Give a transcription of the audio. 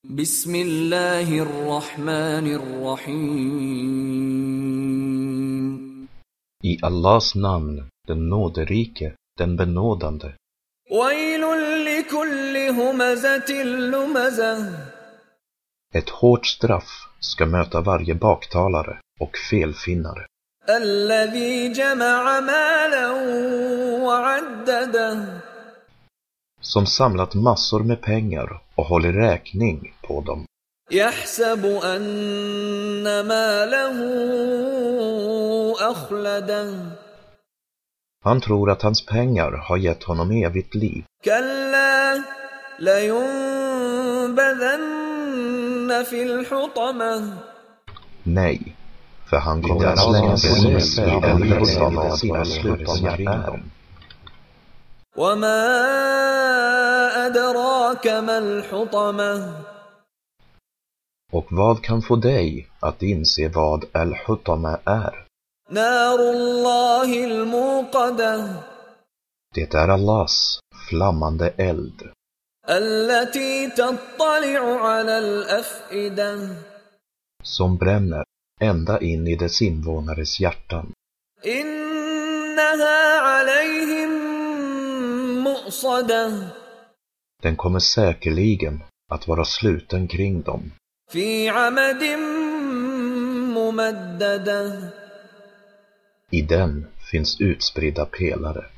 Bismillahirrahmanirrahim. I Allahs namn, den nåderike, den benådande. Ett hårt straff ska möta varje baktalare och felfinnare. Som samlat massor med pengar och håller räkning på dem. Han tror att hans pengar har gett honom evigt liv. Nej, för han kommer att slängas i elden av sina slutningar. Och vad kan få dig att inse vad al-Hutama är? Det är Allahs flammande eld. Som bränner ända in i dess invånares hjärtan. Den kommer säkerligen att vara sluten kring dem. I den finns utspridda pelare.